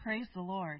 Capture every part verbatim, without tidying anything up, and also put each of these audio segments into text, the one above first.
Praise the Lord.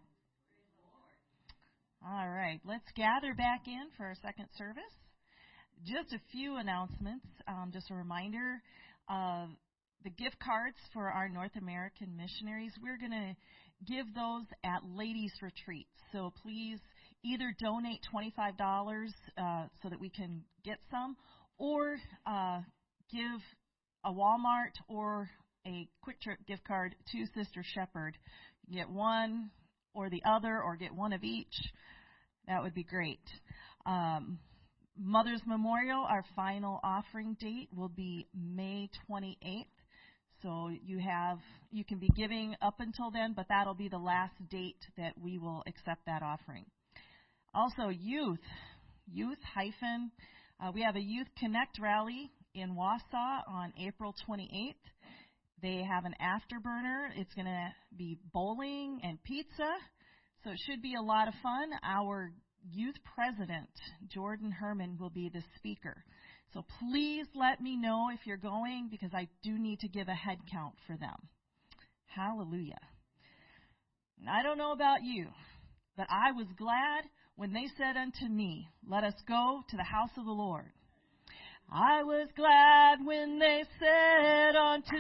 All right, let's gather back in for our second service. Just a few announcements. Um, just a reminder of the gift cards for our North American missionaries. We're going to give those at ladies' retreats. So please either donate twenty-five dollars uh, so that we can get some, or uh, give a Walmart or a Quick Trip gift card to Sister Shepherd. Get one or the other, or get one of each. That would be great. Um, Mother's Memorial, our final offering date will be May twenty-eighth. So you have you can be giving up until then, but that'll be the last date that we will accept that offering. Also, youth, youth hyphen. Uh, we have a Youth Connect rally in Wausau on April twenty-eighth. They have an afterburner. It's going to be bowling and pizza, so it should be a lot of fun. Our youth president, Jordan Herman, will be the speaker. So please let me know if you're going, because I do need to give a head count for them. Hallelujah. And I don't know about you, but I was glad when they said unto me, "Let us go to the house of the Lord." I was glad when they said unto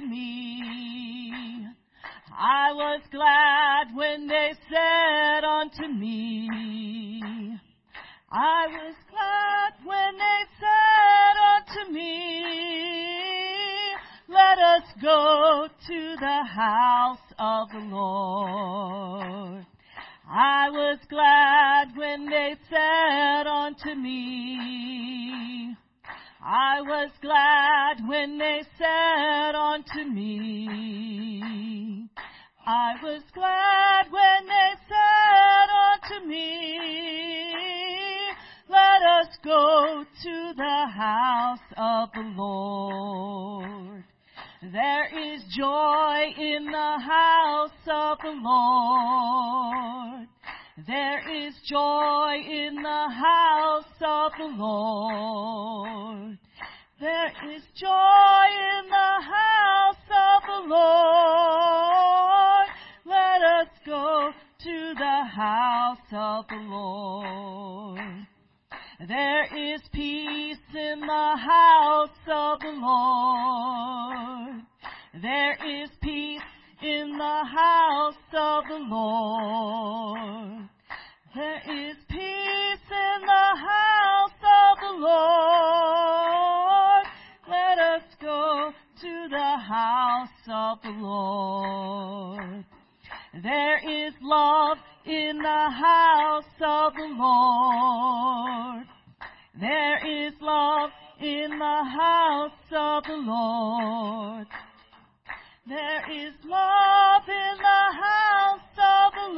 me, I was glad when they said unto me, I was glad when they said unto me, let us go to the house of the Lord. I was glad when they said unto me, I was glad when they said unto me, I was glad when they said unto me, let us go to the house of the Lord. There is joy in the house of the Lord. There is joy in the house of the Lord. There is joy in the house of the Lord. Let us go to the house of the Lord. There is peace in the house of the Lord. There is peace in the house of the Lord. There is peace in the house of the Lord. Let us go to the house of the Lord. There is love in the house of the Lord. There is love in the house of the Lord. There is love in the house of the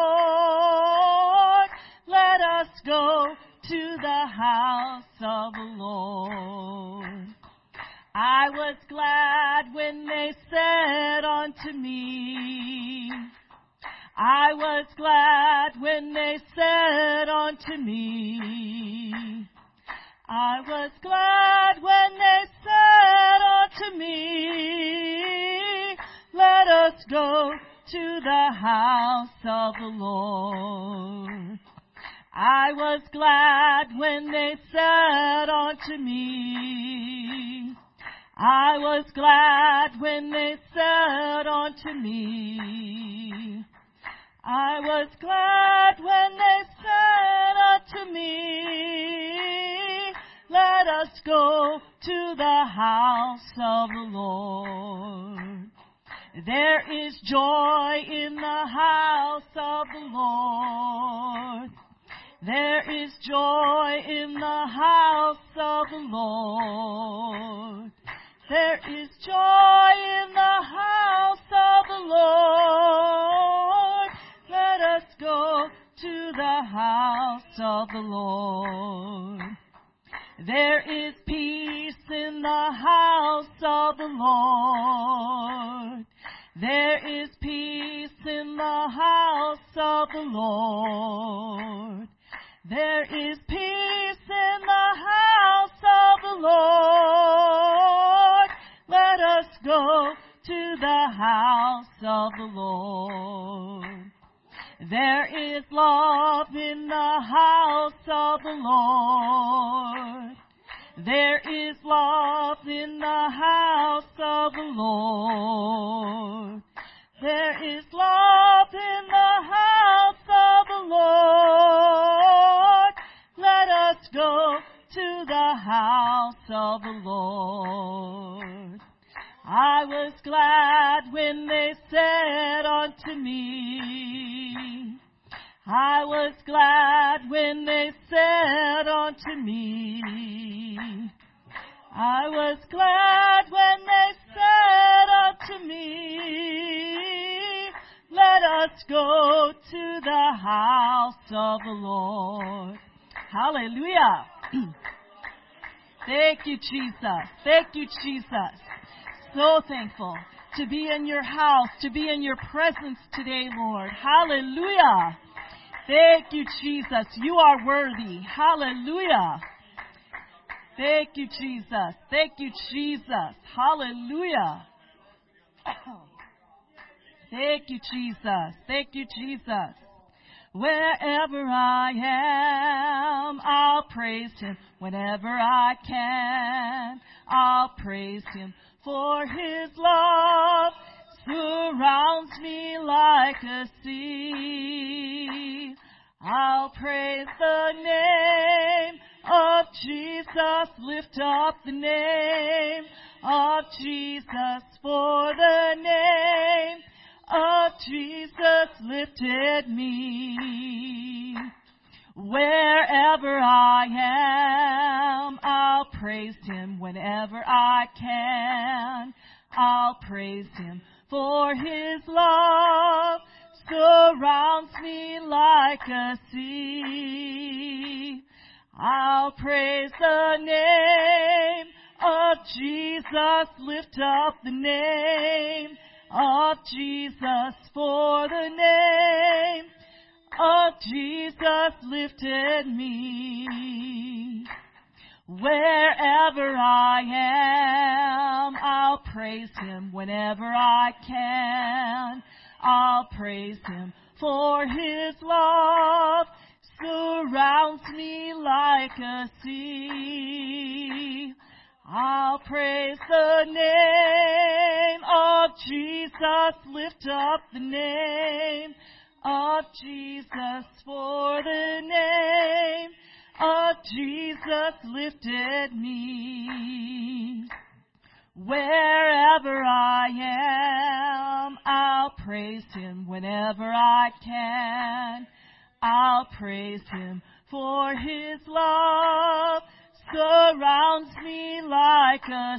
Lord. Let us go to the house of the Lord. I was glad when they said unto me, I was glad when they said unto me, I was glad when they said unto me, let us go to the house of the Lord. I was glad when they said unto me, I was glad when they said unto me, I was glad when they said unto me, let us go to the house of the Lord. There is joy in the house of the Lord. There is joy in the house of the Lord. There is joy in the house of the Lord. Let us go to the house of the Lord. There is peace in the house of the Lord. There is peace in the house of the Lord. There is peace in the house of the Lord. Let us go to the house of the Lord. There is love in the house of the Lord. There is love in the house of the Lord. There is love in the house of the Lord. Let us go to the house of the Lord. I was glad when they said unto me, I was glad when they said unto me, I was glad when they said unto me, let us go to the house of the Lord. Hallelujah. Thank you, Jesus. Thank you, Jesus. So thankful to be in your house, to be in your presence today, Lord. Hallelujah. Thank you, Jesus. You are worthy. Hallelujah. Thank you, Jesus. Thank you, Jesus. Hallelujah. Thank you, Jesus. Thank you, Jesus. Wherever I am, I'll praise Him. Whenever I can, I'll praise Him. For His love surrounds me like a sea. I'll praise the name of Jesus. Lift up the name of Jesus. For the name of Jesus lifted me. Wherever I am, I'll praise Him. Whenever I can, I'll praise Him. For His love surrounds me like a sea. I'll praise the name of Jesus. Lift up the name of Jesus. For the name of Jesus lifted me. Wherever I am, I'll praise Him. Whenever I can, I'll praise Him. For His love surrounds me like a sea. I'll praise the name of Jesus. Lift up the name of Jesus. For the name of Jesus lifted me. Wherever I am, I'll praise Him. Whenever I can, I'll praise Him. For His love surrounds me like a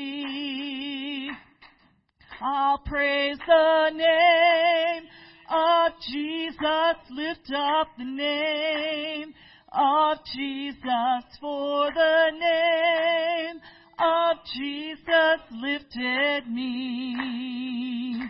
sea. I'll praise the name of Jesus. Lift up the name of Jesus. For the name of Jesus lifted me.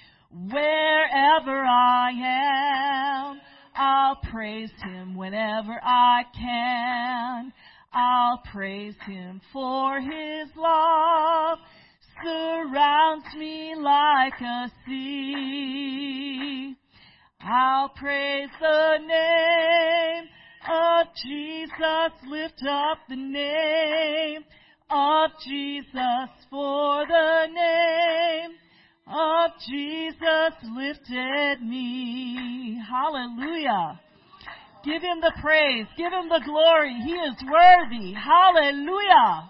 Wherever I am, I'll praise Him. Whenever I can, I'll praise Him. For His love surrounds me like a sea. I'll praise the name of Jesus. Lift up the name of Jesus. For the name of Jesus lifted me. Hallelujah. Give Him the praise. Give Him the glory. He is worthy. Hallelujah.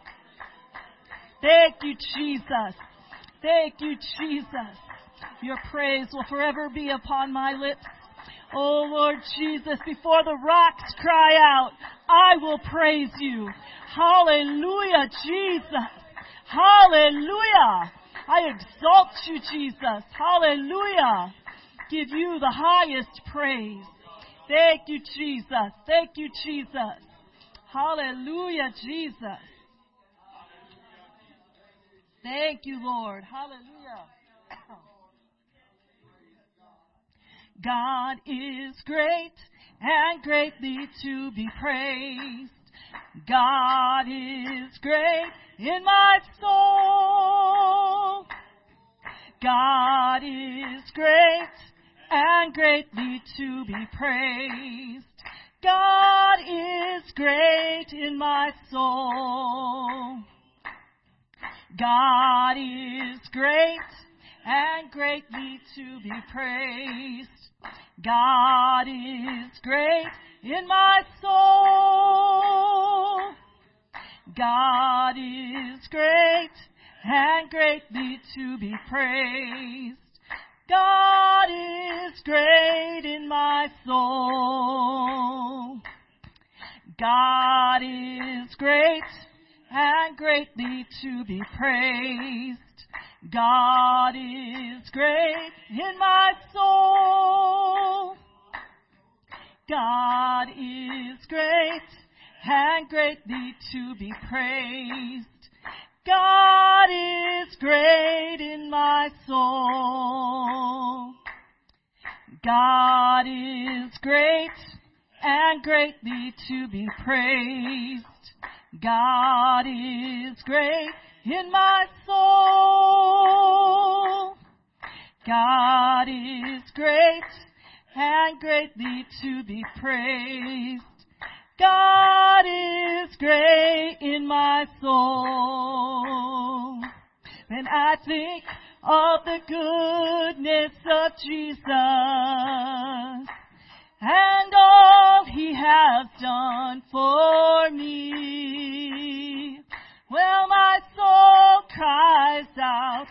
Thank you, Jesus. Thank you, Jesus. Your praise will forever be upon my lips. Oh, Lord Jesus, before the rocks cry out, I will praise you. Hallelujah, Jesus. Hallelujah. I exalt you, Jesus. Hallelujah. Give you the highest praise. Thank you, Jesus. Thank you, Jesus. Hallelujah, Jesus. Thank you, Lord. Hallelujah. God is great and greatly to be praised. God is great in my soul. God is great and greatly to be praised. God is great in my soul. God is great and greatly to be praised. God is great in my soul. God is great and greatly to be praised. God is great in my soul. God is great and greatly to be praised. God is great in my soul. God is great and greatly to be praised. God is great in my soul. God is great and greatly to be praised. God is great in my soul. God is great and greatly to be praised. God is great in my soul. When I think of the goodness of Jesus and all He has done for me, well, my soul cries out,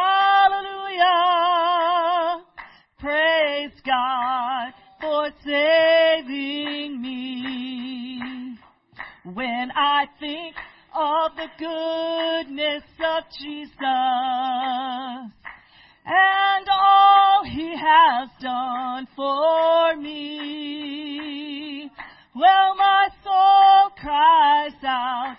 hallelujah, praise God for saving me. When I think of the goodness of Jesus and all He has done for me, well, my soul cries out,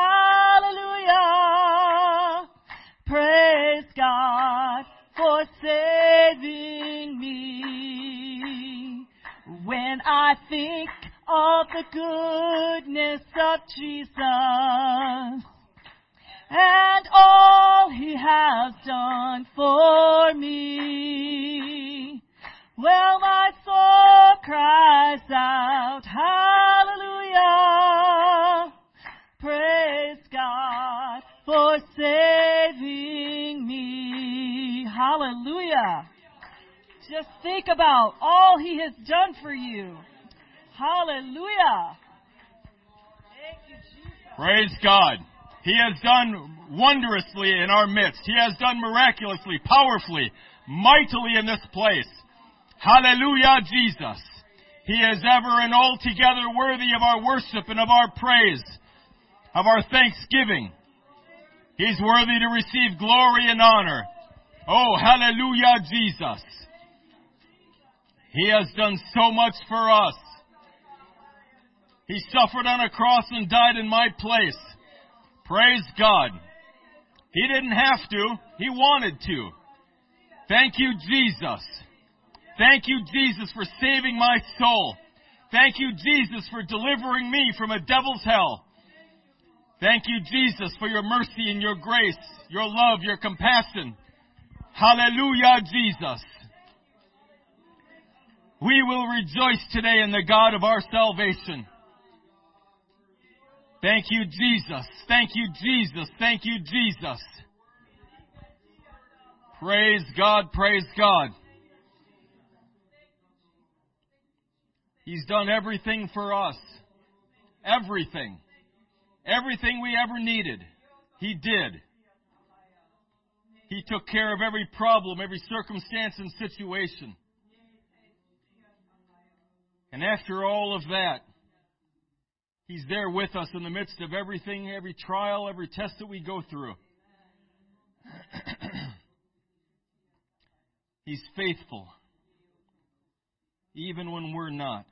hallelujah, praise God for saving me. When I think of the goodness of Jesus and all He has done for me, well, my soul cries out, hallelujah, praise God for saving me. Hallelujah. Just think about all He has done for you. Hallelujah. Thank you, Jesus. Praise God. He has done wondrously in our midst. He has done miraculously, powerfully, mightily in this place. Hallelujah, Jesus. He is ever and altogether worthy of our worship and of our praise, of our thanksgiving. He's worthy to receive glory and honor. Oh, hallelujah, Jesus. He has done so much for us. He suffered on a cross and died in my place. Praise God. He didn't have to. He wanted to. Thank you, Jesus. Thank you, Jesus, for saving my soul. Thank you, Jesus, for delivering me from a devil's hell. Thank you, Jesus, for your mercy and your grace, your love, your compassion. Hallelujah, Jesus. We will rejoice today in the God of our salvation. Thank you, Jesus. Thank you, Jesus. Thank you, Jesus. Praise God, praise God. He's done everything for us. Everything. Everything we ever needed, He did. He took care of every problem, every circumstance and situation. And after all of that, He's there with us in the midst of everything, every trial, every test that we go through. He's faithful, even when we're not.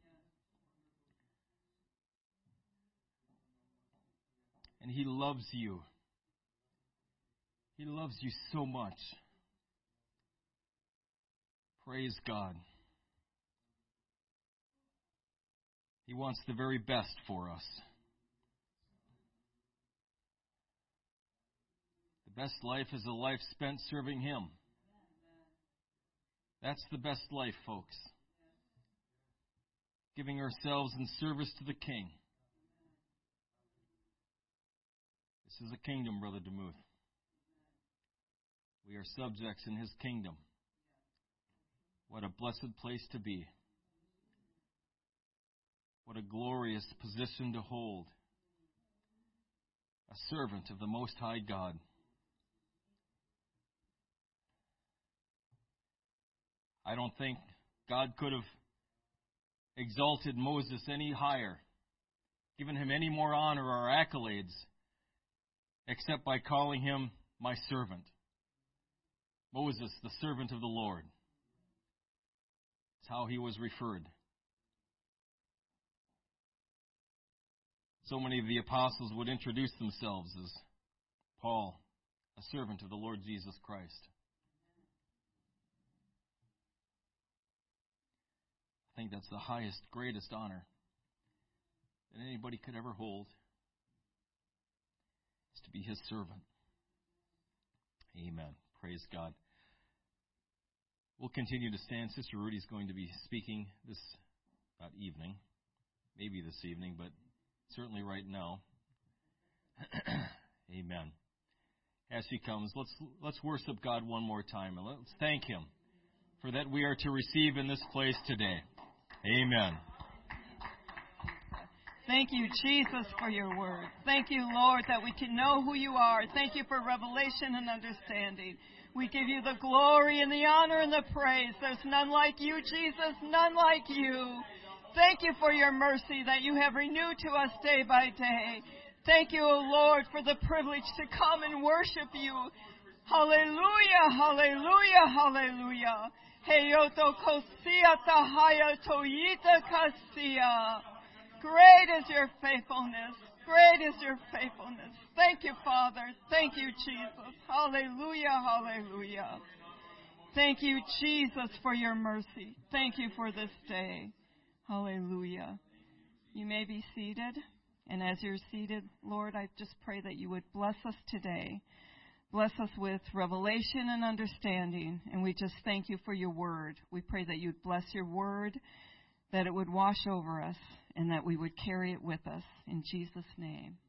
And He loves you. He loves you so much. Praise God. He wants the very best for us. The best life is a life spent serving Him. That's the best life, folks. Giving ourselves in service to the King. This is a kingdom, Brother DeMuth. We are subjects in His kingdom. What a blessed place to be. What a glorious position to hold. A servant of the Most High God. I don't think God could have exalted Moses any higher, given him any more honor or accolades, except by calling him my servant. Moses, the servant of the Lord. That's how he was referred. So many of the apostles would introduce themselves as Paul, a servant of the Lord Jesus Christ. I think that's the highest, greatest honor that anybody could ever hold, is to be His servant. Amen. Praise God. We'll continue to stand. Sister Rudy's going to be speaking this about evening, maybe this evening, but certainly right now. Amen. As she comes, let's let's worship God one more time, and let's thank Him for that we are to receive in this place today. Amen. Thank you, Jesus, for your word. Thank you, Lord, that we can know who you are. Thank you for revelation and understanding. We give you the glory and the honor and the praise. There's none like you, Jesus, none like you. Thank you for your mercy that you have renewed to us day by day. Thank you, O Lord, for the privilege to come and worship you. Hallelujah, hallelujah, hallelujah. Heyoto kosia tahaya toyita kasia. Great is your faithfulness. Great is your faithfulness. Thank you, Father. Thank you, Jesus. Hallelujah, hallelujah. Thank you, Jesus, for your mercy. Thank you for this day. Hallelujah. You may be seated. And as you're seated, Lord, I just pray that you would bless us today. Bless us with revelation and understanding. And we just thank you for your word. We pray that you'd bless your word, that it would wash over us, and that we would carry it with us. In Jesus' name.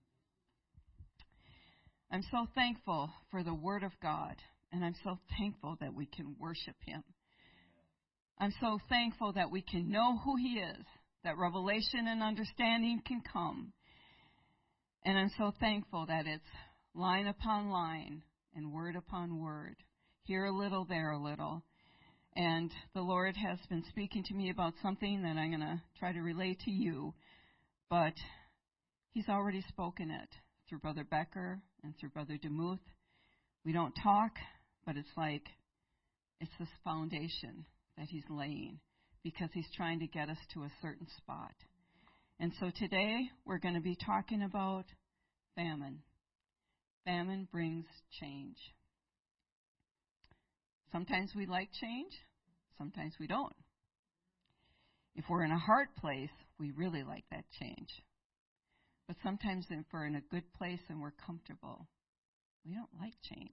I'm so thankful for the word of God. And I'm so thankful that we can worship Him. I'm so thankful that we can know who He is, that revelation and understanding can come. And I'm so thankful that it's line upon line and word upon word, here a little, there a little. And the Lord has been speaking to me about something that I'm going to try to relay to you. But He's already spoken it through Brother Becker and through Brother DeMuth. We don't talk, but it's like it's this foundation that He's laying because He's trying to get us to a certain spot. And so today we're going to be talking about famine. Famine brings change. Sometimes we like change, sometimes we don't. If we're in a hard place, we really like that change. But sometimes if we're in a good place and we're comfortable, we don't like change.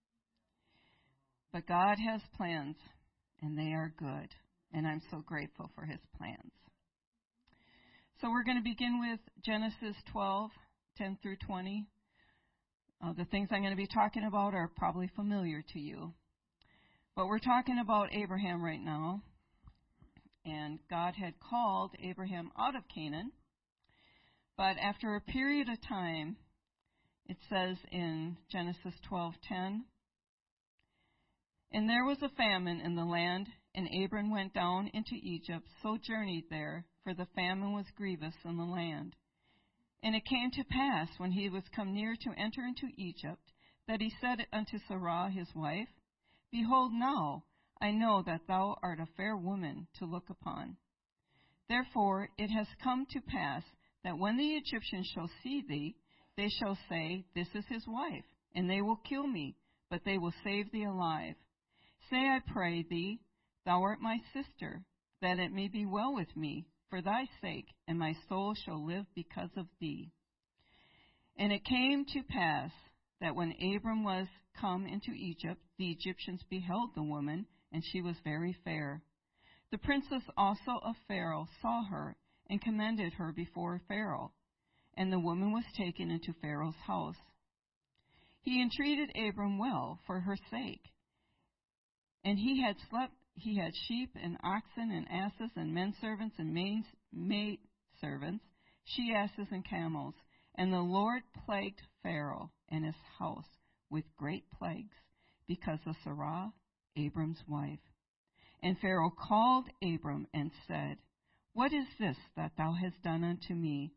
But God has plans, and they are good. And I'm so grateful for His plans. So we're going to begin with Genesis twelve, ten through twenty. Uh, the things I'm going to be talking about are probably familiar to you. But we're talking about Abraham right now. And God had called Abraham out of Canaan. But after a period of time, it says in Genesis twelve ten, "And there was a famine in the land, and Abram went down into Egypt, sojourneyed there, for the famine was grievous in the land. And it came to pass, when he was come near to enter into Egypt, that he said unto Sarah his wife, Behold now, I know that thou art a fair woman to look upon. Therefore it has come to pass, that when the Egyptians shall see thee, they shall say, This is his wife, and they will kill me, but they will save thee alive. Say, I pray thee, Thou art my sister, that it may be well with me, for thy sake, and my soul shall live because of thee. And it came to pass, that when Abram was come into Egypt, the Egyptians beheld the woman, and she was very fair. The princess also of Pharaoh saw her and commended her before Pharaoh, and the woman was taken into Pharaoh's house. He entreated Abram well for her sake, and he had slept. He had sheep and oxen and asses and men servants and maid servants, she asses and camels. And the Lord plagued Pharaoh and his house with great plagues because of Sarah, Abram's wife. And Pharaoh called Abram and said, What is this that thou hast done unto me?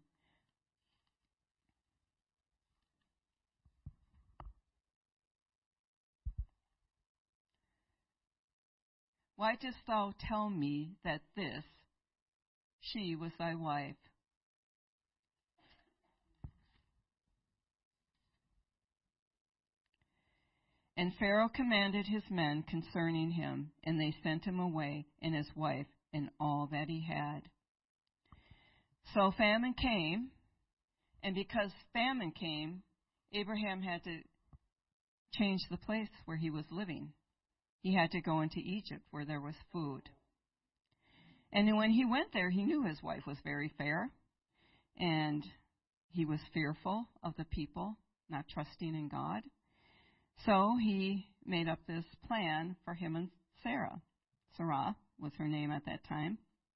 Why dost thou tell me that this, she was thy wife? And Pharaoh commanded his men concerning him, and they sent him away, and his wife, and all that he had. So famine came, and because famine came, Abraham had to change the place where he was living. He had to go into Egypt where there was food. And when he went there, he knew his wife was very fair, and he was fearful of the people, not trusting in God. So he made up this plan for him and Sarah. Sarah was her name at that time.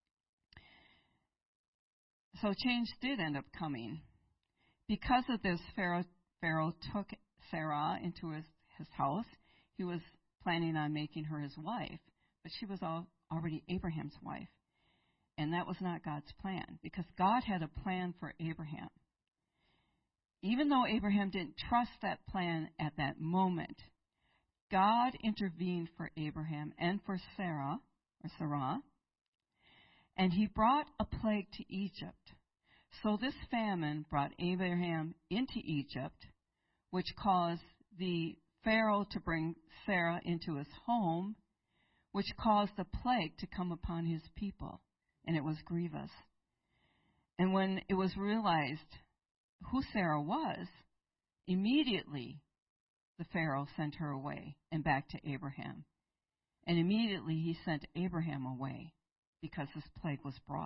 So change did end up coming. Because of this, Pharaoh, Pharaoh took Sarah into his, his house. He was planning on making her his wife, but she was all, already Abraham's wife. And that was not God's plan, because God had a plan for Abraham. Even though Abraham didn't trust that plan at that moment, God intervened for Abraham and for Sarah, or Sarah, and he brought a plague to Egypt. So this famine brought Abraham into Egypt, which caused the Pharaoh to bring Sarah into his home, which caused the plague to come upon his people, and it was grievous. And when it was realized who Sarah was, immediately the Pharaoh sent her away and back to Abraham. And immediately he sent Abraham away because this plague was brought.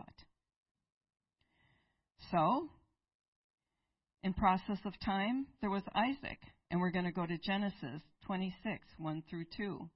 So, in process of time, there was Isaac. And we're going to go to Genesis twenty-six, one through two.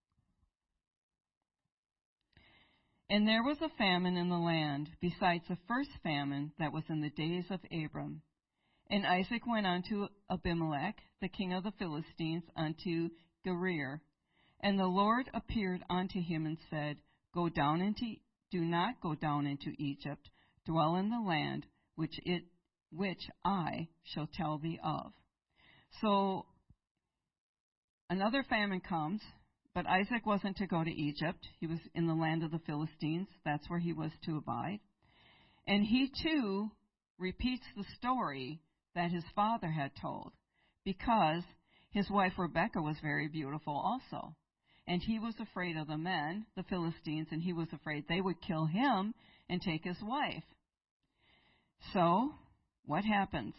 And there was a famine in the land, besides the first famine that was in the days of Abram. And Isaac went unto Abimelech, the king of the Philistines, unto Gerar. And the Lord appeared unto him and said, Go down into, do not go down into Egypt, dwell in the land which it, which I shall tell thee of. So another famine comes, but Isaac wasn't to go to Egypt. He was in the land of the Philistines. That's where he was to abide. And he too repeats the story that his father had told, because his wife Rebekah was very beautiful also. And he was afraid of the men, the Philistines, and he was afraid they would kill him and take his wife. So, what happens?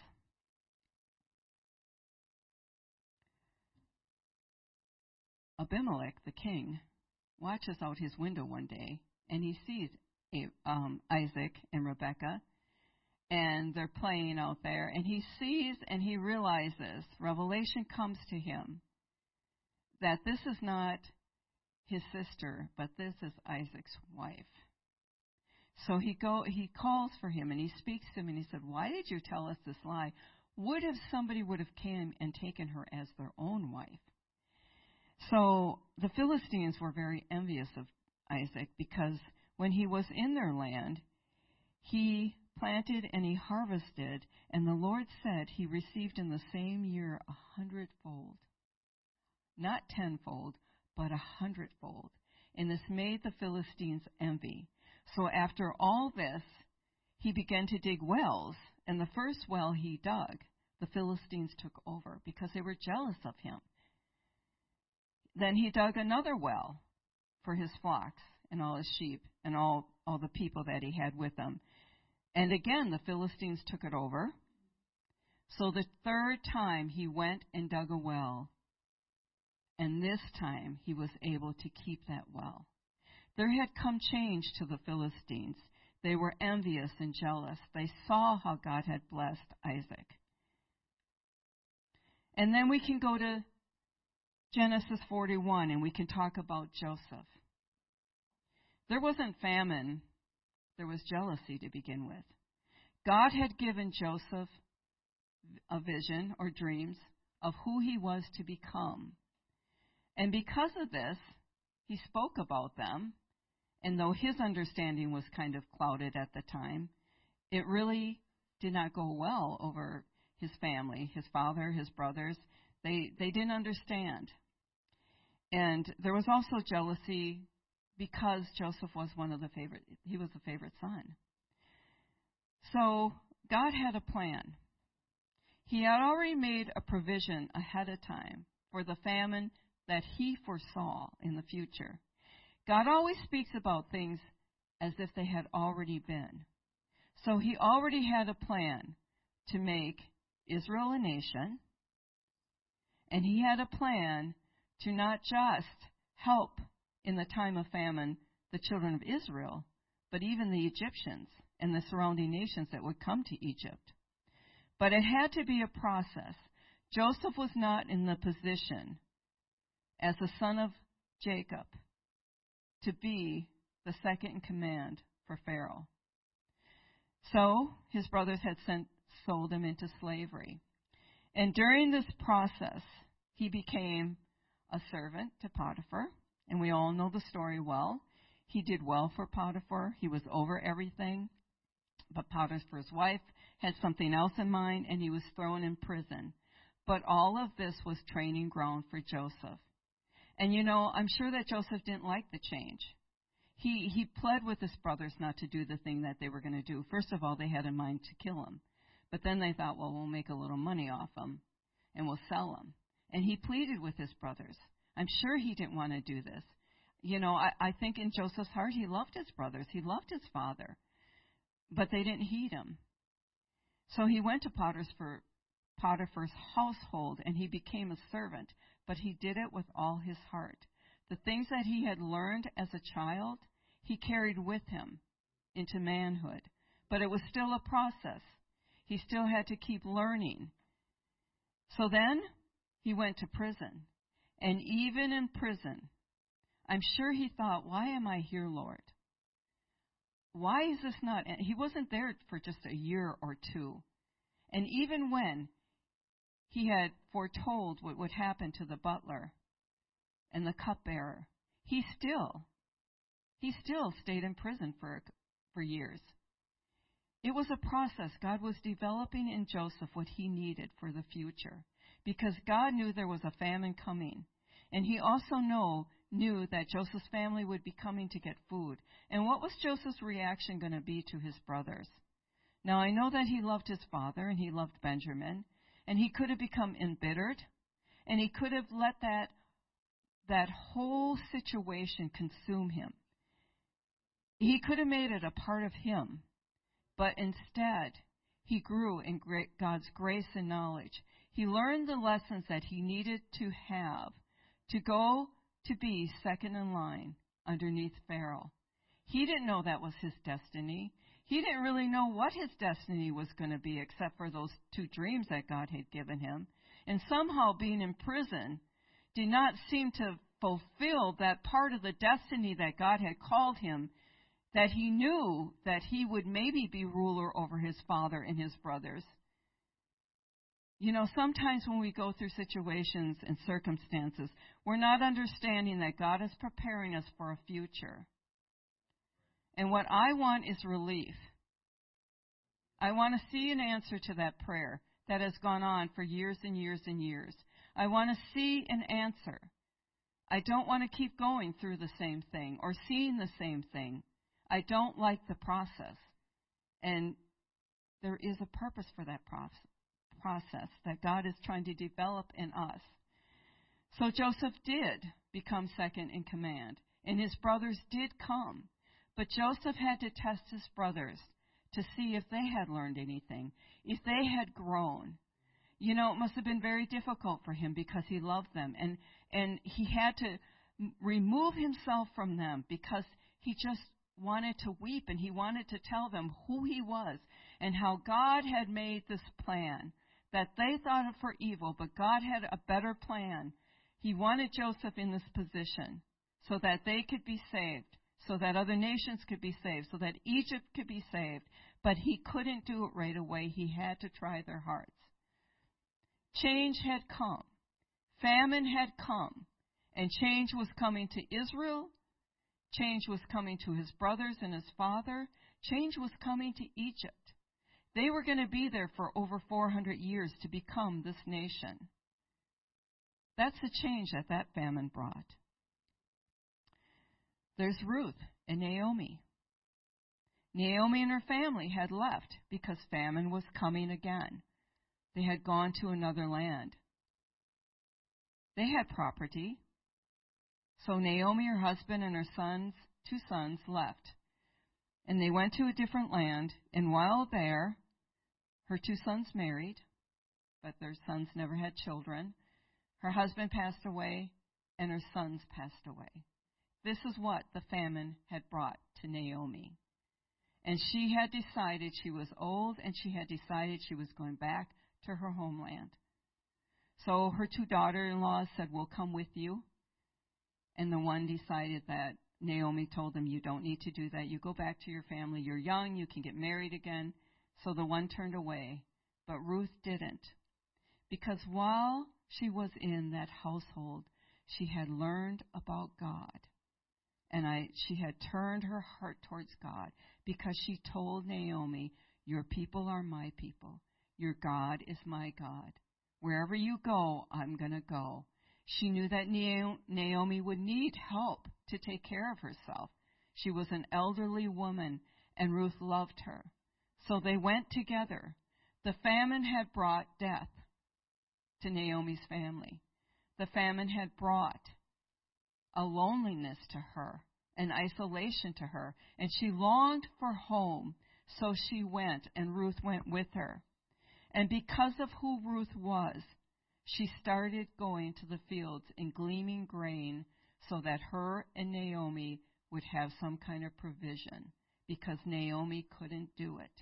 Abimelech, the king, watches out his window one day, and he sees um, Isaac and Rebekah, and they're playing out there, and he sees and he realizes, revelation comes to him, that this is not his sister, but this is Isaac's wife. So he go, he calls for him, and he speaks to him, and he said, Why did you tell us this lie? What if somebody would have came and taken her as their own wife? So the Philistines were very envious of Isaac, because when he was in their land, he planted and he harvested, and the Lord said he received in the same year a hundredfold. Not tenfold, but a hundredfold. And this made the Philistines envy. So after all this, he began to dig wells, and the first well he dug, the Philistines took over because they were jealous of him. Then he dug another well for his flocks and all his sheep and all, all the people that he had with him. And again, the Philistines took it over. So the third time he went and dug a well, And this time he was able to keep that well. There had come change to the Philistines. They were envious and jealous. They saw how God had blessed Isaac. And then we can go to Genesis forty-one and we can talk about Joseph. There wasn't famine. There was jealousy to begin with. God had given Joseph a vision or dreams of who he was to become. And because of this, he spoke about them. And though his understanding was kind of clouded at the time, it really did not go well over his family, his father, his brothers. They they didn't understand. And there was also jealousy because Joseph was one of the favorite, he was the favorite son. So God had a plan. He had already made a provision ahead of time for the famine that he foresaw in the future. God always speaks about things as if they had already been. So he already had a plan to make Israel a nation, and he had a plan to not just help in the time of famine the children of Israel, but even the Egyptians and the surrounding nations that would come to Egypt. But it had to be a process. Joseph was not in the position as the son of Jacob to be the second in command for Pharaoh. So his brothers had sent, sold him into slavery. And during this process, he became a servant to Potiphar. And we all know the story well. He did well for Potiphar. He was over everything. But Potiphar's wife had something else in mind, and he was thrown in prison. But all of this was training ground for Joseph. And you know, I'm sure that Joseph didn't like the change. He he pled with his brothers not to do the thing that they were going to do. First of all, they had in mind to kill him. But then they thought, well, we'll make a little money off him, and we'll sell him. And he pleaded with his brothers. I'm sure he didn't want to do this. You know, I, I think in Joseph's heart, he loved his brothers. He loved his father. But they didn't heed him. So he went to Potiphar's, Potiphar's household, and he became a servant. But he did it with all his heart. The things that he had learned as a child, he carried with him into manhood. But it was still a process. He still had to keep learning. So then he went to prison. And even in prison, I'm sure he thought, why am I here, Lord? Why is this not? He wasn't there for just a year or two. And even when he had foretold what would happen to the butler and the cupbearer, he still, he still stayed in prison for, for years. It was a process. God was developing in Joseph what he needed for the future, because God knew there was a famine coming. And he also know, knew that Joseph's family would be coming to get food. And what was Joseph's reaction going to be to his brothers? Now, I know that he loved his father and he loved Benjamin, and he could have become embittered, and he could have let that, that whole situation consume him. He could have made it a part of him, but instead, he grew in great God's grace and knowledge. He learned the lessons that he needed to have to go to be second in line underneath Pharaoh. He didn't know that was his destiny. He didn't really know what his destiny was going to be except for those two dreams that God had given him. And somehow being in prison did not seem to fulfill that part of the destiny that God had called him, that he knew that he would maybe be ruler over his father and his brothers. You know, sometimes when we go through situations and circumstances, we're not understanding that God is preparing us for a future. And what I want is relief. I want to see an answer to that prayer that has gone on for years and years and years. I want to see an answer. I don't want to keep going through the same thing or seeing the same thing. I don't like the process. And there is a purpose for that process. process that God is trying to develop in us. So Joseph did become second in command, and his brothers did come. But Joseph had to test his brothers to see if they had learned anything, if they had grown. you know, it must have been very difficult for him because he loved them. And, and he had to m- remove himself from them because he just wanted to weep, and he wanted to tell them who he was and how God had made this plan that they thought it for evil, but God had a better plan. He wanted Joseph in this position so that they could be saved, so that other nations could be saved, so that Egypt could be saved. But he couldn't do it right away. He had to try their hearts. Change had come. Famine had come. And change was coming to Israel. Change was coming to his brothers and his father. Change was coming to Egypt. They were going to be there for over four hundred years to become this nation. That's the change that that famine brought. There's Ruth and Naomi. Naomi and her family had left because famine was coming again. They had gone to another land. They had property. So Naomi, her husband, and her sons, two sons, left. And they went to a different land, and while there, her two sons married, but their sons never had children. Her husband passed away, and her sons passed away. This is what the famine had brought to Naomi. And she had decided she was old, and she had decided she was going back to her homeland. So her two daughter-in-laws said, "We'll come with you." And the one decided that Naomi told them, "You don't need to do that. You go back to your family. You're young. You can get married again." So the one turned away, but Ruth didn't. Because while she was in that household, she had learned about God. And I, she had turned her heart towards God because she told Naomi, "Your people are my people. Your God is my God. Wherever you go, I'm going to go." She knew that Naomi would need help to take care of herself. She was an elderly woman, and Ruth loved her. So they went together. The famine had brought death to Naomi's family. The famine had brought a loneliness to her, an isolation to her, and she longed for home. So she went, and Ruth went with her. And because of who Ruth was, she started going to the fields and gleaning grain so that her and Naomi would have some kind of provision, because Naomi couldn't do it.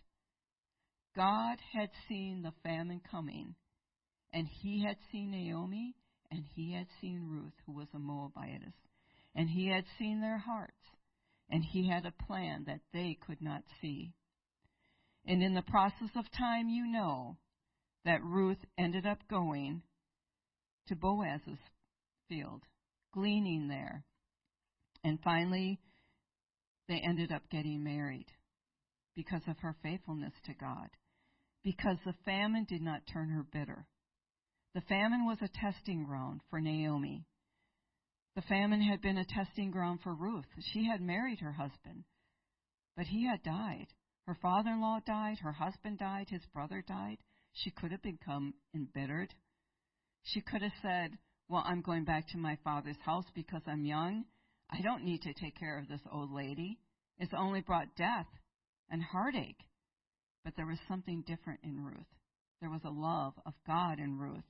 God had seen the famine coming, and he had seen Naomi, and he had seen Ruth, who was a Moabitess, and he had seen their hearts, and he had a plan that they could not see. And in the process of time, you know that Ruth ended up going to Boaz's field, gleaning there. And finally, they ended up getting married because of her faithfulness to God, because the famine did not turn her bitter. The famine was a testing ground for Naomi. The famine had been a testing ground for Ruth. She had married her husband, but he had died. Her father-in-law died, her husband died, his brother died. She could have become embittered. She could have said, "Well, I'm going back to my father's house because I'm young. I don't need to take care of this old lady. It's only brought death and heartache." But there was something different in Ruth. There was a love of God in Ruth.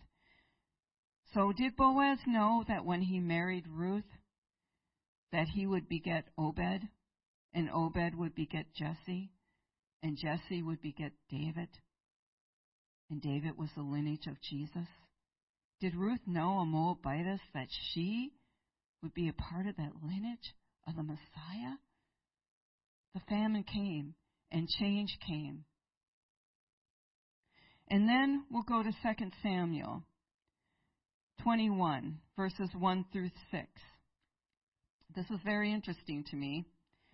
So did Boaz know that when he married Ruth, that he would beget Obed, and Obed would beget Jesse, and Jesse would beget David, and David was the lineage of Jesus? Did Ruth know, a Moabitess, that she would be a part of that lineage of the Messiah? The famine came, and change came. And then we'll go to Second Samuel twenty-one, verses one through six. This is very interesting to me.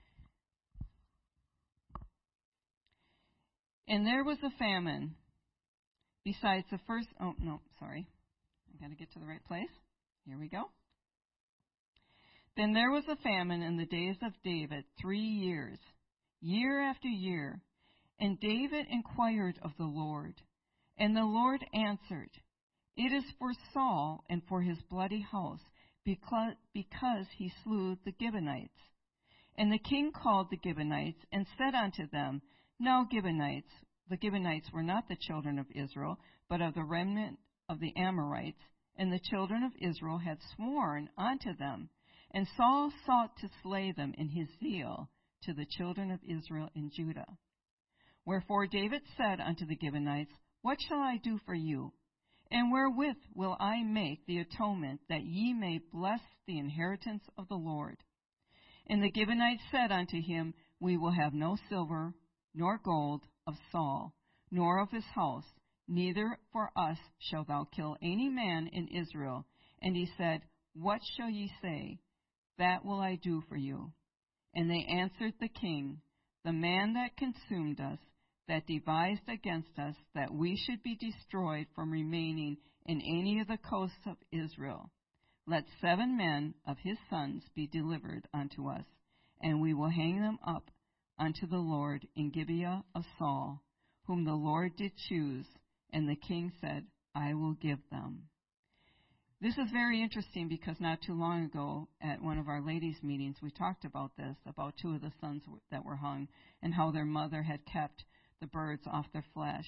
And there was a famine besides the first... Oh, no, sorry. I've got to get to the right place. Here we go. Then there was a famine in the days of David three years, year after year. And David inquired of the Lord. And the Lord answered, "It is for Saul and for his bloody house, because, because he slew the Gibeonites." And the king called the Gibeonites and said unto them, "Now Gibeonites," the Gibeonites were not the children of Israel, but of the remnant of the Amorites, and the children of Israel had sworn unto them. And Saul sought to slay them in his zeal to the children of Israel in Judah. Wherefore David said unto the Gibeonites, What shall I do for you? And wherewith will I make the atonement, that ye may bless the inheritance of the Lord? And the Gibeonites said unto him, We will have no silver nor gold of Saul, nor of his house, neither for us shalt thou kill any man in Israel. And he said, What shall ye say? That will I do for you. And they answered the king, The man that consumed us, that devised against us, that we should be destroyed from remaining in any of the coasts of Israel. Let seven men of his sons be delivered unto us, and we will hang them up unto the Lord in Gibeah of Saul, whom the Lord did choose. And the king said, I will give them. This is very interesting because not too long ago at one of our ladies' meetings we talked about this, about two of the sons that were hung and how their mother had kept the birds off their flesh.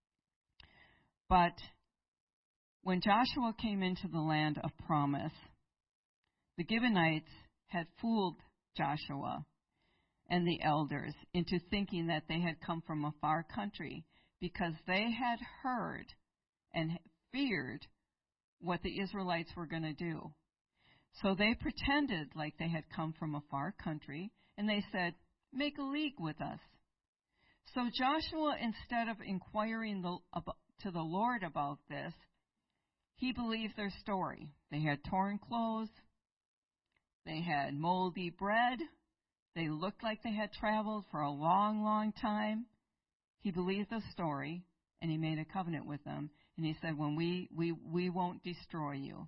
But when Joshua came into the land of promise, the Gibeonites had fooled Joshua and the elders into thinking that they had come from a far country because they had heard and feared what the Israelites were going to do. So they pretended like they had come from a far country, and they said, Make a league with us. So Joshua, instead of inquiring the, about, to the Lord about this, he believed their story. They had torn clothes. They had moldy bread. They looked like they had traveled for a long, long time. He believed the story, and he made a covenant with them. And he said, when we, we, we won't destroy you.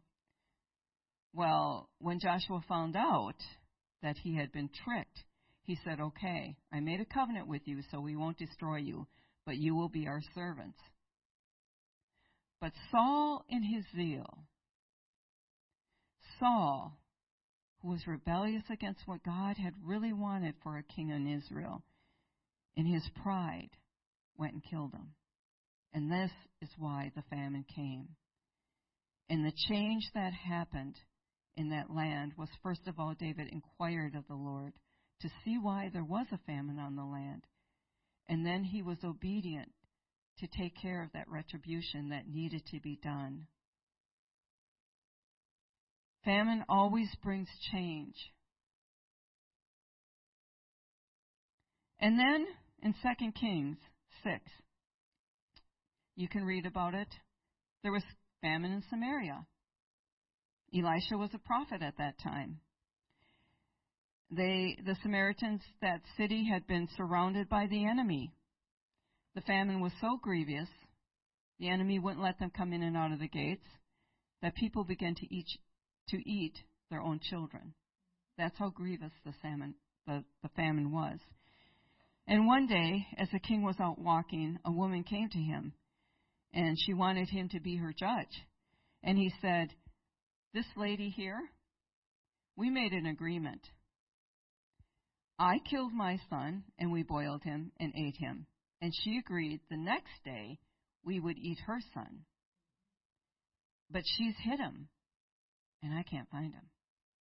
Well, when Joshua found out that he had been tricked, he said, okay, I made a covenant with you, so we won't destroy you, but you will be our servants. But Saul, in his zeal, Saul, who was rebellious against what God had really wanted for a king in Israel, in his pride, went and killed him. And this is why the famine came. And the change that happened in that land was, first of all, David inquired of the Lord to see why there was a famine on the land. And then he was obedient to take care of that retribution that needed to be done. Famine always brings change. And then in Second Kings six, you can read about it. There was famine in Samaria. Elisha was a prophet at that time. They, the Samaritans, that city had been surrounded by the enemy. The famine was so grievous, the enemy wouldn't let them come in and out of the gates, that people began to eat, to eat their own children. That's how grievous the famine, the, the famine was. And one day, as the king was out walking, a woman came to him, and she wanted him to be her judge. And he said, this lady here, we made an agreement. I killed my son, and we boiled him and ate him. And she agreed the next day we would eat her son. But she's hid him, and I can't find him.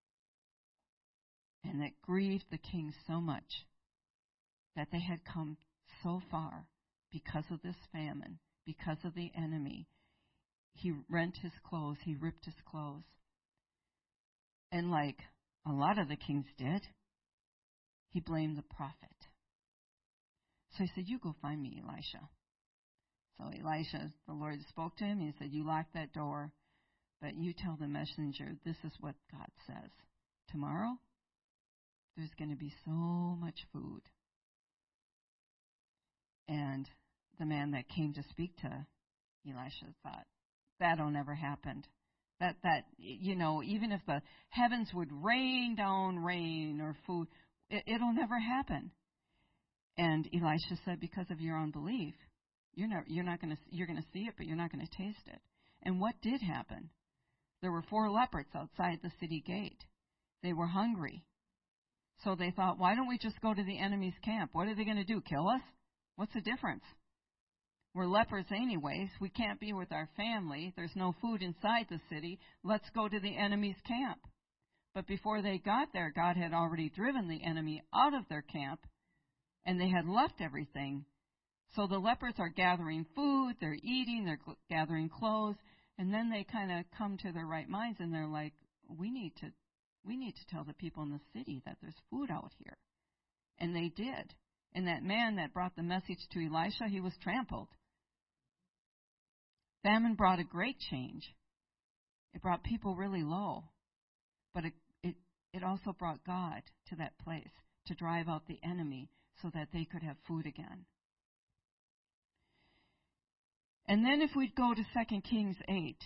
And it grieved the king so much that they had come so far because of this famine, because of the enemy. He rent his clothes, he ripped his clothes. And like a lot of the kings did, he blamed the prophet. So he said, you go find me Elisha. So Elisha, the Lord spoke to him. He said, you lock that door, but you tell the messenger, this is what God says. Tomorrow, there's going to be so much food. And the man that came to speak to Elisha thought, that'll never happen. That, that, you know, even if the heavens would rain down rain or food, it, it'll never happen. And Elisha said, because of your unbelief, you're not, you're not going to, you're going to see it, but you're not going to taste it. And what did happen? There were four leopards outside the city gate. They were hungry. So they thought, why don't we just go to the enemy's camp? What are they going to do? Kill us? What's the difference? We're lepers anyways. We can't be with our family. There's no food inside the city. Let's go to the enemy's camp. But before they got there, God had already driven the enemy out of their camp, and they had left everything. So the lepers are gathering food, they're eating, they're cl- gathering clothes, and then they kind of come to their right minds, and they're like, we need to we need to tell the people in the city that there's food out here. And they did. And that man that brought the message to Elisha, he was trampled. Famine brought a great change. It brought people really low. But it, it, it also brought God to that place to drive out the enemy so that they could have food again. And then if we'd go to Second Kings eight.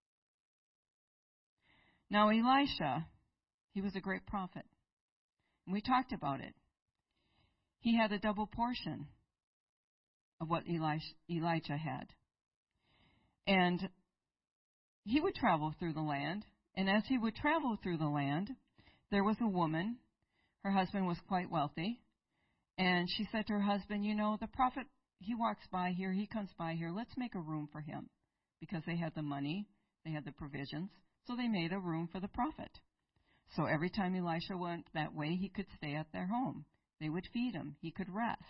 Now Elisha, he was a great prophet. And we talked about it. He had a double portion of what Elisha, Elijah had. And he would travel through the land. And as he would travel through the land, there was a woman. Her husband was quite wealthy. And she said to her husband, you know, the prophet, he walks by here, he comes by here. Let's make a room for him. Because they had the money, they had the provisions. So they made a room for the prophet. So every time Elisha went that way, he could stay at their home. They would feed him. He could rest.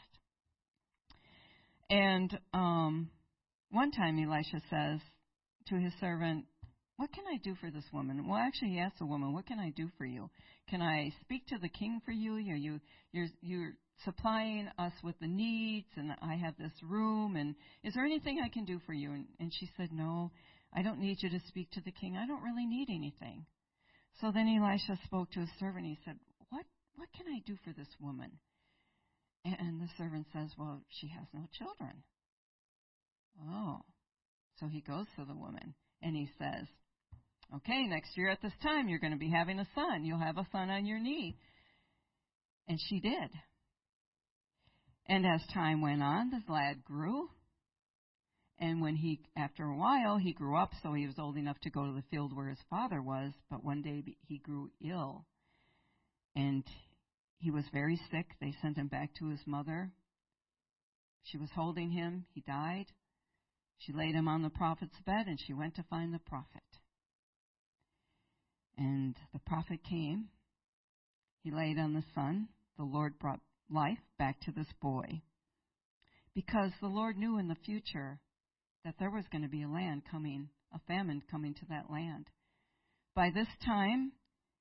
And um, one time Elisha says to his servant, what can I do for this woman? Well, actually, he asked the woman, what can I do for you? Can I speak to the king for you? Are you you're, you're supplying us with the needs, and I have this room, and is there anything I can do for you? And, and she said, no, I don't need you to speak to the king. I don't really need anything. So then Elisha spoke to his servant. He said, what, what can I do for this woman? And, and the servant says, well, she has no children. Oh. So he goes to the woman, and he says, okay, next year at this time, you're going to be having a son. You'll have a son on your knee. And she did. And as time went on, the lad grew. And when he, after a while, he grew up, so he was old enough to go to the field where his father was. But one day he grew ill. And he was very sick. They sent him back to his mother. She was holding him. He died. She laid him on the prophet's bed, and she went to find the prophet. And the prophet came. He laid on the son. The Lord brought life back to this boy. Because the Lord knew in the future that there was going to be a land coming, a famine coming to that land. By this time,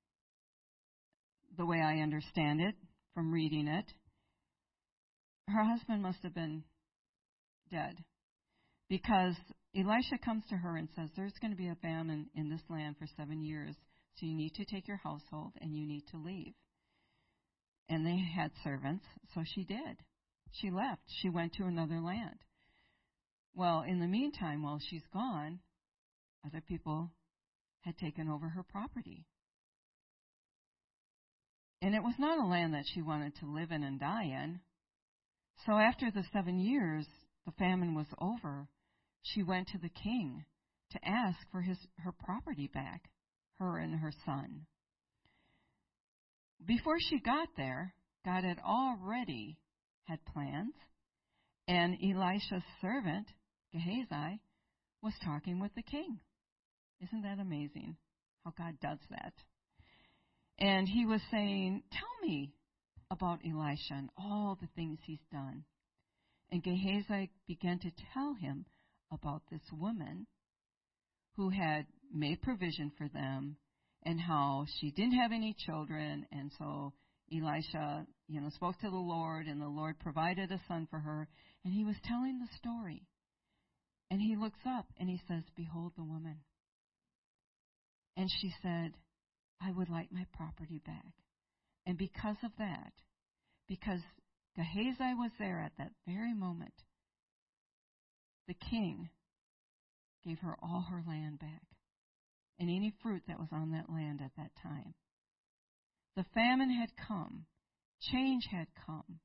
the way I understand it, from reading it, her husband must have been dead. Because Elisha comes to her and says, there's going to be a famine in this land for seven years, so you need to take your household and you need to leave. And they had servants, so she did. She left. She went to another land. Well, in the meantime, while she's gone, other people had taken over her property. And it was not a land that she wanted to live in and die in. So after the seven years, the famine was over, she went to the king to ask for his her property back, her and her son. Before she got there, God had already had plans, and Elisha's servant, Gehazi, was talking with the king. Isn't that amazing how God does that? And he was saying, tell me about Elisha and all the things he's done. And Gehazi began to tell him about this woman who had made provision for them and how she didn't have any children. And so Elisha, you know, spoke to the Lord, and the Lord provided a son for her. And he was telling the story. And he looks up and he says, behold the woman. And she said, I would like my property back. And because of that, because Gehazi was there at that very moment, the king gave her all her land back and any fruit that was on that land at that time. The famine had come. Change had come.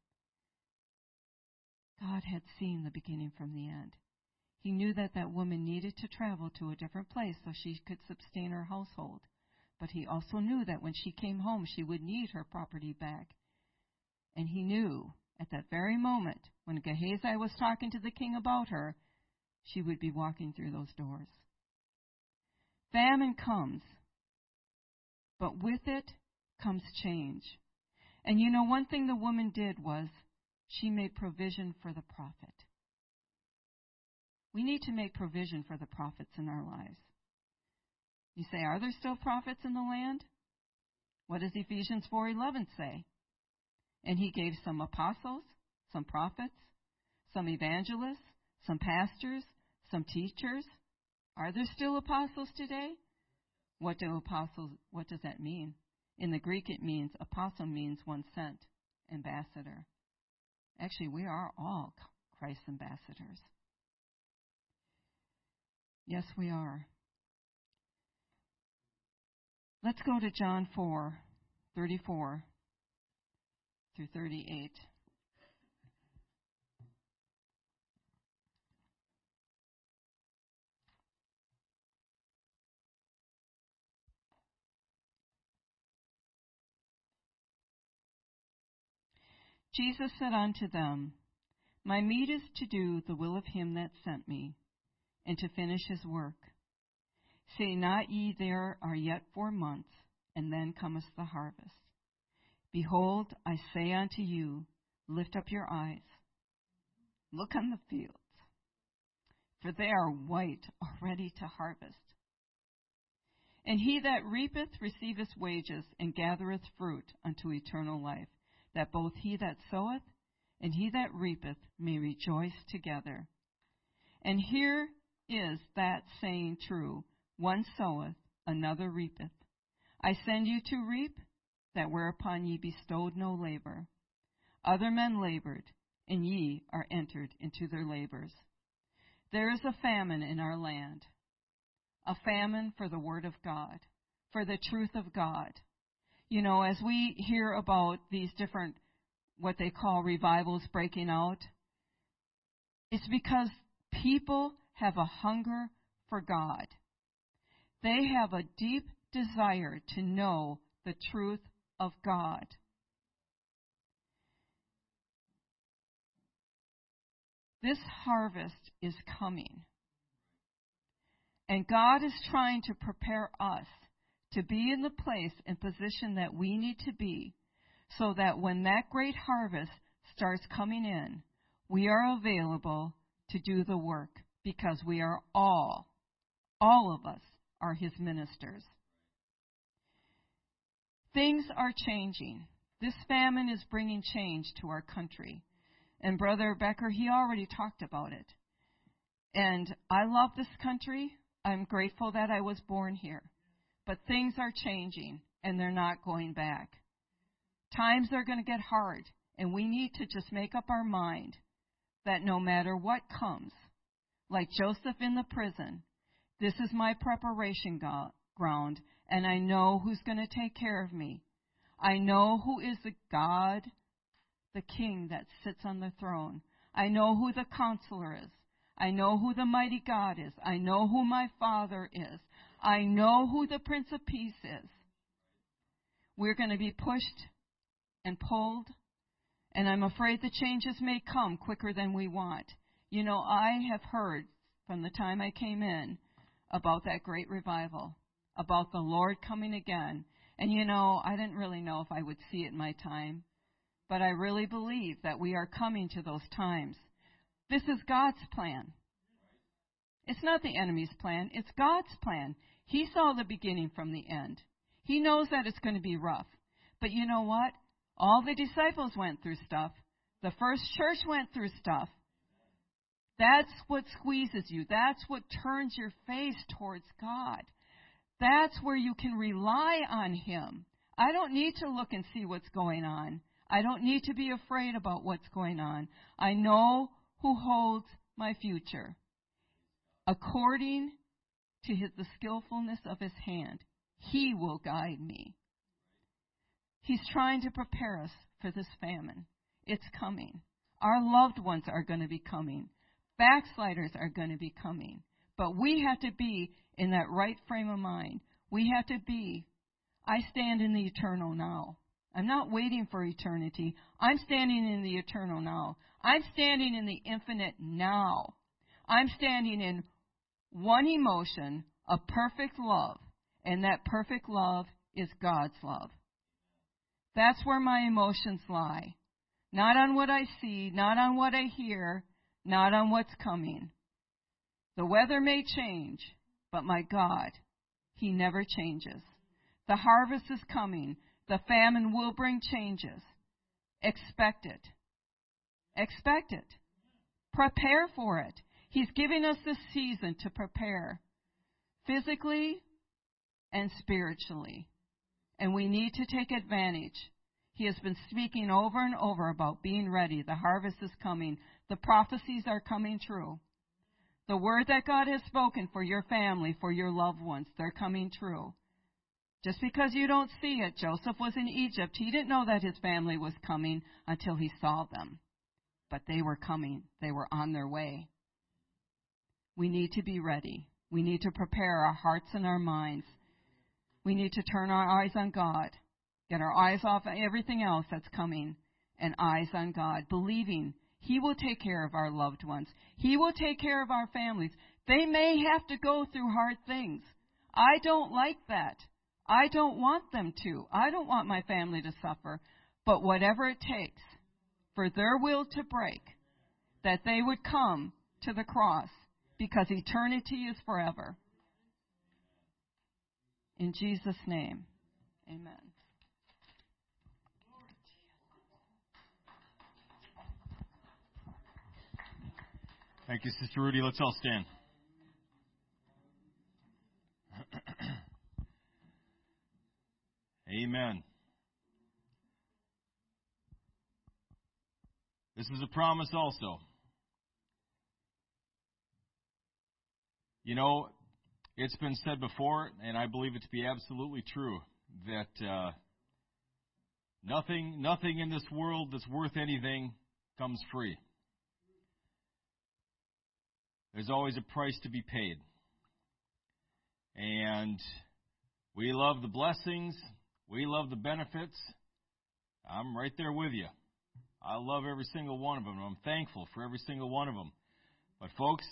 God had seen the beginning from the end. He knew that that woman needed to travel to a different place so she could sustain her household. But he also knew that when she came home, she would need her property back. And he knew at that very moment, when Gehazi was talking to the king about her, she would be walking through those doors. Famine comes, but with it comes change. And you know, one thing the woman did was she made provision for the prophet. We need to make provision for the prophets in our lives. You say, are there still prophets in the land? What does Ephesians four eleven say? And he gave some apostles, some prophets, some evangelists, some pastors, some teachers. Are there still apostles today? What do apostles, what does that mean? In the Greek it means, apostle means one sent, ambassador. Actually, we are all Christ's ambassadors. Yes, we are. Let's go to John four, thirty-four through thirty-eight. Jesus said unto them, My meat is to do the will of him that sent me, and to finish his work. Say not ye, there are yet four months, and then cometh the harvest. Behold, I say unto you, lift up your eyes, look on the fields, for they are white already to harvest. And he that reapeth receiveth wages, and gathereth fruit unto eternal life, that both he that soweth and he that reapeth may rejoice together. And here is that saying true, one soweth, another reapeth. I send you to reap, that whereupon ye bestowed no labor. Other men labored, and ye are entered into their labors. There is a famine in our land, a famine for the word of God, for the truth of God. You know, as we hear about these different, what they call revivals breaking out, it's because people have a hunger for God. They have a deep desire to know the truth of God. This harvest is coming. And God is trying to prepare us to be in the place and position that we need to be, so that when that great harvest starts coming in, we are available to do the work, because we are all, all of us are his ministers. Things are changing. This famine is bringing change to our country. And Brother Becker, he already talked about it. And I love this country. I'm grateful that I was born here. But things are changing, and they're not going back. Times are going to get hard, and we need to just make up our mind that no matter what comes, like Joseph in the prison, this is my preparation go- ground, and I know who's going to take care of me. I know who is the God, the King that sits on the throne. I know who the Counselor is. I know who the mighty God is. I know who my Father is. I know who the Prince of Peace is. We're going to be pushed and pulled, and I'm afraid the changes may come quicker than we want. You know, I have heard from the time I came in about that great revival, about the Lord coming again. And you know, I didn't really know if I would see it in my time, but I really believe that we are coming to those times. This is God's plan. It's not the enemy's plan. It's God's plan. He saw the beginning from the end. He knows that it's going to be rough. But you know what? All the disciples went through stuff. The first church went through stuff. That's what squeezes you. That's what turns your face towards God. That's where you can rely on him. I don't need to look and see what's going on. I don't need to be afraid about what's going on. I know who holds my future. According to his, the skillfulness of his hand, he will guide me. He's trying to prepare us for this famine. It's coming. Our loved ones are going to be coming. Backsliders are going to be coming. But we have to be in that right frame of mind. We have to be, I stand in the eternal now. I'm not waiting for eternity. I'm standing in the eternal now. I'm standing in the infinite now. I'm standing in one emotion, a perfect love, and that perfect love is God's love. That's where my emotions lie. Not on what I see, not on what I hear, not on what's coming. The weather may change, but my God, He never changes. The harvest is coming. The famine will bring changes. Expect it. Expect it. Prepare for it. He's giving us this season to prepare physically and spiritually. And we need to take advantage. He has been speaking over and over about being ready. The harvest is coming. The prophecies are coming true. The word that God has spoken for your family, for your loved ones, they're coming true. Just because you don't see it, Joseph was in Egypt. He didn't know that his family was coming until he saw them. But they were coming. They were on their way. We need to be ready. We need to prepare our hearts and our minds. We need to turn our eyes on God. Get our eyes off everything else that's coming and eyes on God, believing He will take care of our loved ones. He will take care of our families. They may have to go through hard things. I don't like that. I don't want them to. I don't want my family to suffer. But whatever it takes for their will to break, that they would come to the cross, because eternity is forever. In Jesus' name, amen. Thank you, Sister Rudy. Let's all stand. Amen. This is a promise also. You know, it's been said before, and I believe it to be absolutely true, that uh, nothing, nothing in this world that's worth anything comes free. There's always a price to be paid. And we love the blessings. We love the benefits. I'm right there with you. I love every single one of them. I'm thankful for every single one of them. But folks,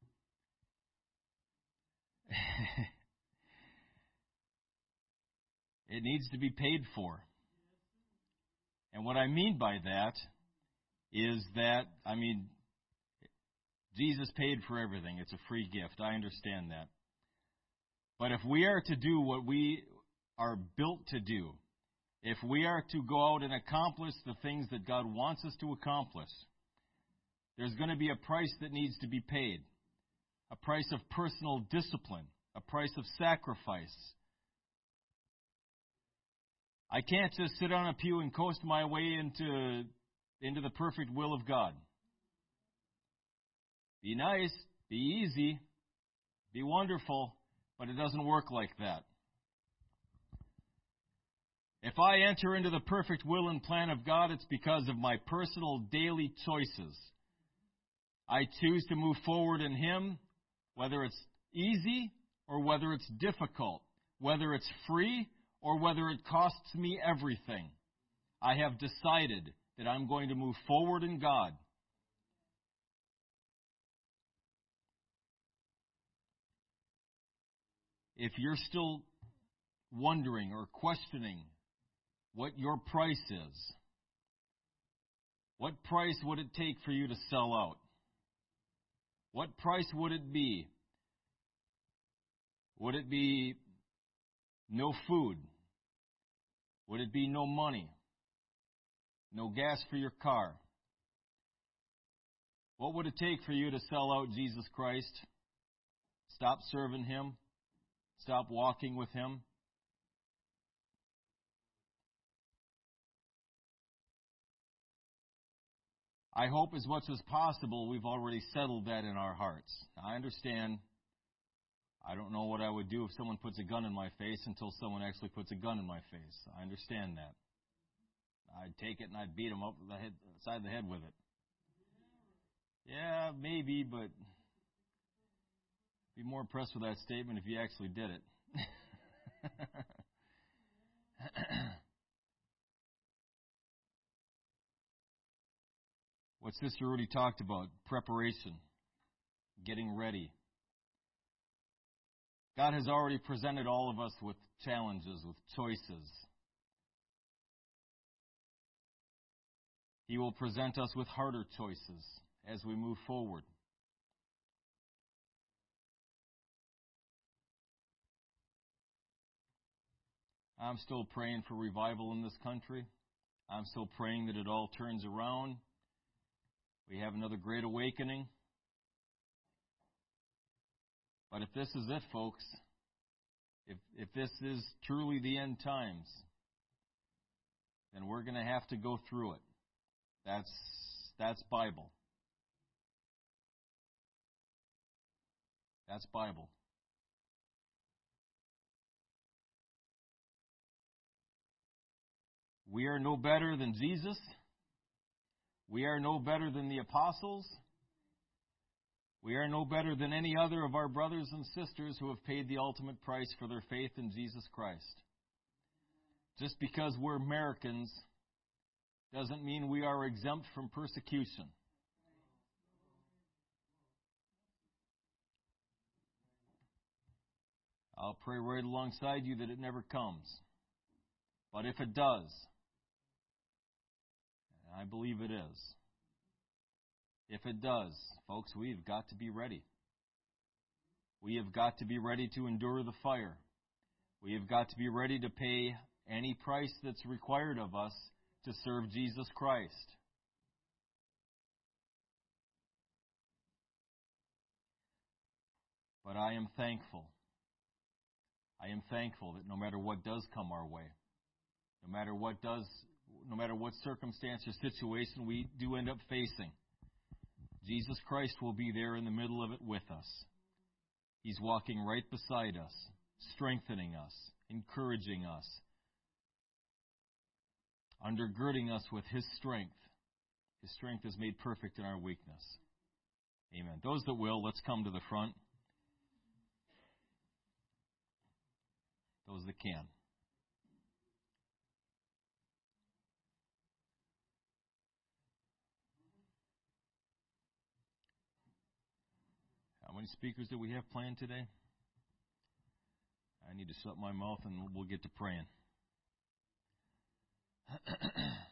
it needs to be paid for. And what I mean by that is that, I mean, Jesus paid for everything. It's a free gift. I understand that. But if we are to do what we are built to do, if we are to go out and accomplish the things that God wants us to accomplish, there's going to be a price that needs to be paid. A price of personal discipline. A price of sacrifice. I can't just sit on a pew and coast my way into, into the perfect will of God. Be nice, be easy, be wonderful, but it doesn't work like that. If I enter into the perfect will and plan of God, it's because of my personal daily choices. I choose to move forward in Him, whether it's easy or whether it's difficult, whether it's free or whether it costs me everything. I have decided that I'm going to move forward in God. If you're still wondering or questioning what your price is, what price would it take for you to sell out? What price would it be? Would it be no food? Would it be no money? No gas for your car? What would it take for you to sell out Jesus Christ? Stop serving Him? Stop walking with Him? I hope as much as possible we've already settled that in our hearts. I understand. I don't know what I would do if someone puts a gun in my face until someone actually puts a gun in my face. I understand that. I'd take it and I'd beat them up the head, side of the head with it. Yeah, maybe, but be more impressed with that statement if you actually did it. what Sister Rudy talked about, preparation, getting ready. God has already presented all of us with challenges, with choices. He will present us with harder choices as we move forward. I'm still praying for revival in this country. I'm still praying that it all turns around. We have another great awakening. But if this is it, folks, if if this is truly the end times, then we're going to have to go through it. That's that's Bible. That's Bible. We are no better than Jesus. We are no better than the apostles. We are no better than any other of our brothers and sisters who have paid the ultimate price for their faith in Jesus Christ. Just because we're Americans doesn't mean we are exempt from persecution. I'll pray right alongside you that it never comes. But if it does, and I believe it is, if it does, folks, we've got to be ready. We have got to be ready to endure the fire. We have got to be ready to pay any price that's required of us to serve Jesus Christ. But I am thankful. I am thankful that no matter what does come our way, no matter what does, no matter what circumstance or situation we do end up facing, Jesus Christ will be there in the middle of it with us. He's walking right beside us, strengthening us, encouraging us, undergirding us with His strength. His strength is made perfect in our weakness. Amen. Those that will, let's come to the front. Those that can. How many speakers do we have planned today? I need to shut my mouth and we'll get to praying.